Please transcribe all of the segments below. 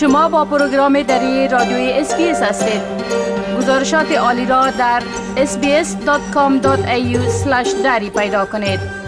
شما با پروگرام دری رادیوی SBS هستید. گزارشات عالی را در sbs.com.au/dari پیدا کنید.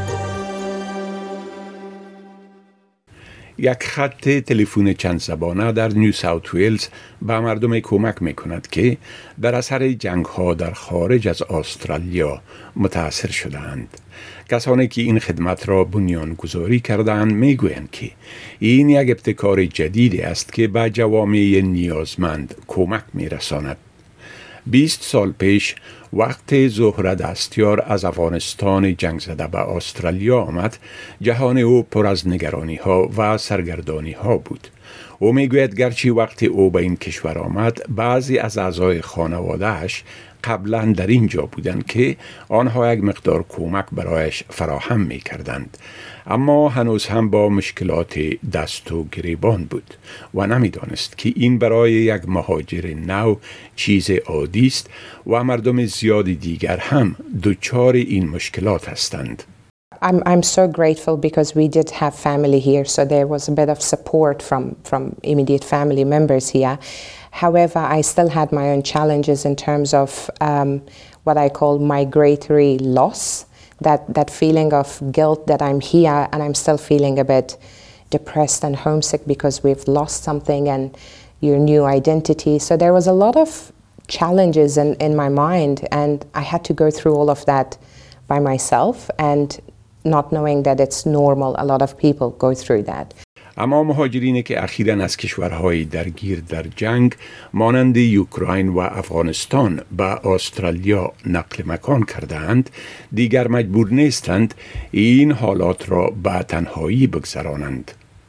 یک خط تلفن چند زبانه در نیو ساوت ویلز به مردم کمک می‌کند که در اثر جنگ‌ها در خارج از استرالیا متاثر شدند. کسانی که این خدمت را بنیانگذاری کردند میگویند که این یک ابتکار جدیدی است که به جوامع نیازمند کمک می‌رساند. 20 سال پیش وقت زهره دستیار از افغانستان جنگ زده به استرالیا آمد، جهان او پر از نگرانی ها و سرگردانی ها بود. او میگوید گرچه وقت او به این کشور آمد، بعضی از اعضای خانواده‌اش قبلا در اینجا بودند که آنها یک مقدار کمک برایش فراهم می کردند، اما هنوز هم با مشکلات دست و گریبان بود و نمیدانست که این برای یک مهاجر نو چیز عادی است و مردم زیاد دیگر هم دچار این مشکلات هستند. I'm so grateful because we did have family here, so there was a bit of support from immediate family members here. However, I still had my own challenges in terms of what I call migratory loss, that feeling of guilt that I'm here and I'm still feeling a bit depressed and homesick because we've lost something and your new identity. So there was a lot of challenges in my mind, and I had to go through all of that by myself and not knowing that it's normal. A lot of people go through that. اما مهاجرینی که اخیراً از کشورهای درگیر در جنگ مانند اوکراین و افغانستان به استرالیا نقل مکان کردند، دیگر مجبور نیستند این حالات را به تنهایی بگذرانند.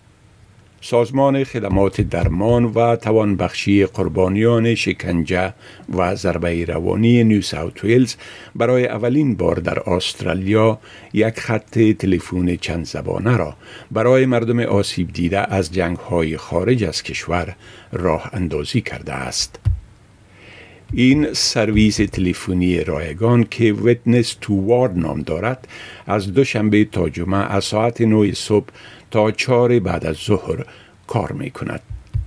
سازمان خدمات درمان و توانبخشی قربانیان شکنجه و ضربه روانی نیو ساوت ویلز برای اولین بار در استرالیا یک خط تلفن چند زبانه را برای مردم آسیب دیده از جنگ‌های خارج از کشور راه اندازی کرده است. این سرویس تلفنی رایگان که ویتنس تو وار نام دارد، از دوشنبه تا جمعه از ساعت 9 صبح تا 4 بعد از ظهر کار می کند.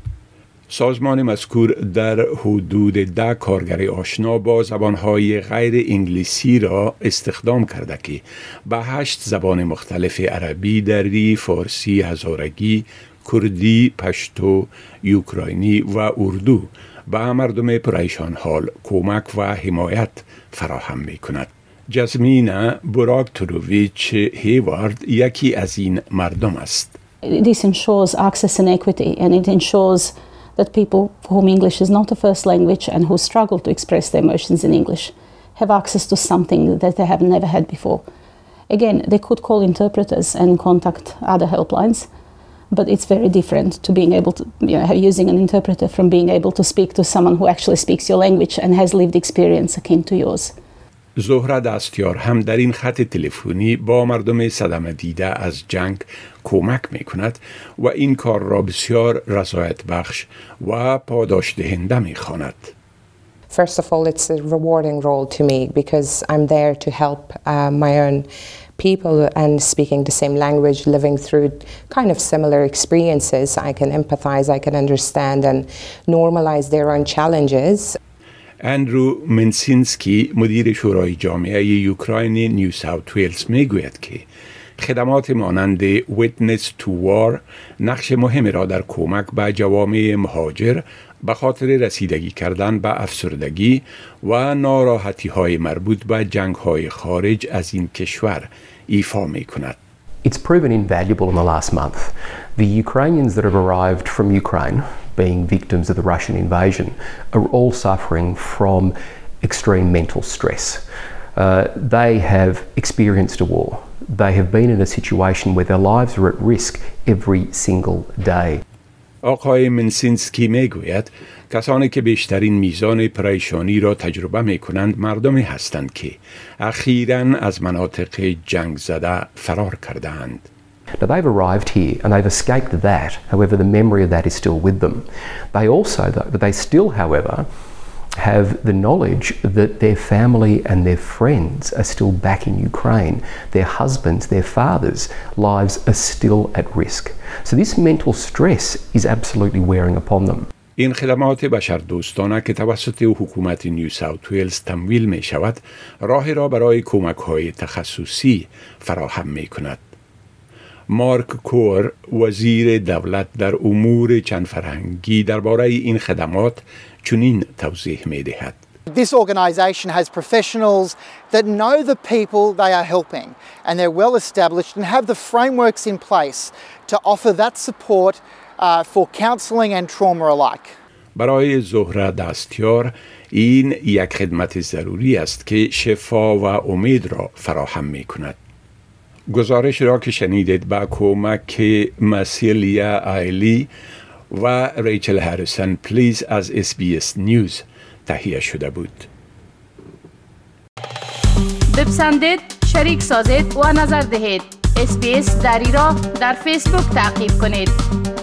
سازمان مذکور در حدود 10 کارگر آشنا با زبانهای غیر انگلیسی را استخدام کرده که به 8 زبان مختلف عربی، دری، فارسی، هزارگی، کردی، پشتو، اوکراینی و اردو به مردم پریشان حال کمک و حمایت فراهم می کند. جزمینا براکتوروویچ هیوارد یکی از این مردم است. This ensures access and equity, and it ensures that people for whom English is not a first language and who struggle to express their emotions in English have access to something that they have never had before. Again, they could call interpreters and contact other helplines, but it's very different to being able to, using an interpreter from being able to speak to someone who actually speaks your language and has lived experience akin to yours. زهره دستیار هم در این خط تلفنی با مردم صدمه دیده از جنگ کمک می کند و این کار را بسیار رضایت بخش و پاداش دهنده می خواند. First of all, it's a rewarding role to me because I'm there to help my own people and speaking the same language, living through kind of similar experiences. I can empathize, I can understand and normalize their own challenges. اندرو منسینسکی مدیر شورای جامعه اوکراین نیو ساوت ویلز میگوید که خدمات مانند ویتنس تو وار نقش مهمی را در کمک به جوامع مهاجر به خاطر رسیدگی کردن به افسردگی و ناراحتی های مربوط به جنگ های خارج از این کشور ایفا می کند. It's proven invaluable in the last month. The Ukrainians that have arrived from Ukraine, being victims of the Russian invasion, are all suffering from extreme mental stress. They have experienced a war. They have been in a situation where their lives are at risk every single day. آقای منسینسکی میگوید کسانی که بیشترین میزان پریشانی را تجربه می کنند مردمی هستند که اخیراً از مناطق جنگ زده فرار کردند. Now they've arrived here and they've escaped that. However, the memory of that is still with them. They still, however, have the knowledge that their family and their friends are still back in Ukraine. Their husbands, their fathers' lives are still at risk. So this mental stress is absolutely wearing upon them. این خدمات بشردوستانه که توسط حکومت نیو ساوت ویلز تمویل می شود، راهی را برای کمک های تخصصی فراهم می کند. مارک کور، وزیر دولت در امور چند فرهنگی، درباره این خدمات چنین توضیح می دهد. This organisation has professionals that know the people they are helping and they're well established and have the frameworks in place to offer that support for counselling and trauma alike. برای زهره دستیار این یک خدمت ضروری است که شفا و امید را فراهم می کند. گزارش را که شنیدید با کمک مسیلیا آیلی و ریچل هریسون پلیز از SBS نیوز تهیه شده بود. بپسندید، شریک سازید و نظر دهید. SBS دری را در فیسبوک تعقیب کنید.